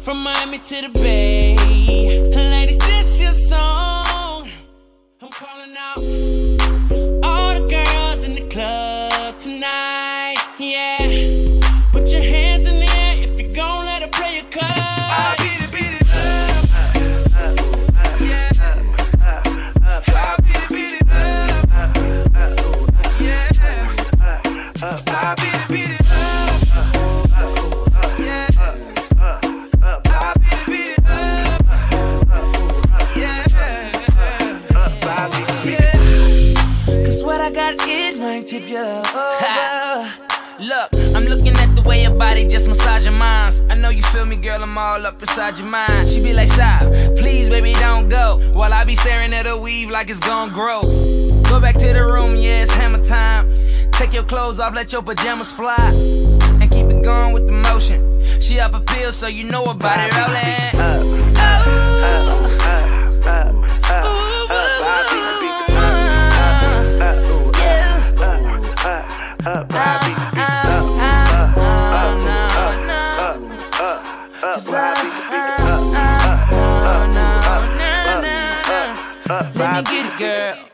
from Miami to the Bay. Ladies, this your song. I'm calling out all the girls in the club tonight. Yeah, put your hands in the air if you gon' let her play your card. I beat it up. Yeah, I beat it up. Yeah, I beat it up. It might tip you over. Look, I'm looking at the way your body just massage your minds. I know you feel me, girl, I'm all up inside your mind. She be like, stop, please, baby, don't go. While I be staring at her weave like it's gon' grow. Go back to the room, yeah, it's hammer time. Take your clothes off, let your pajamas fly. And keep it going with the motion. She off a pill, so you know about it, rollin'. Let me get it, girl.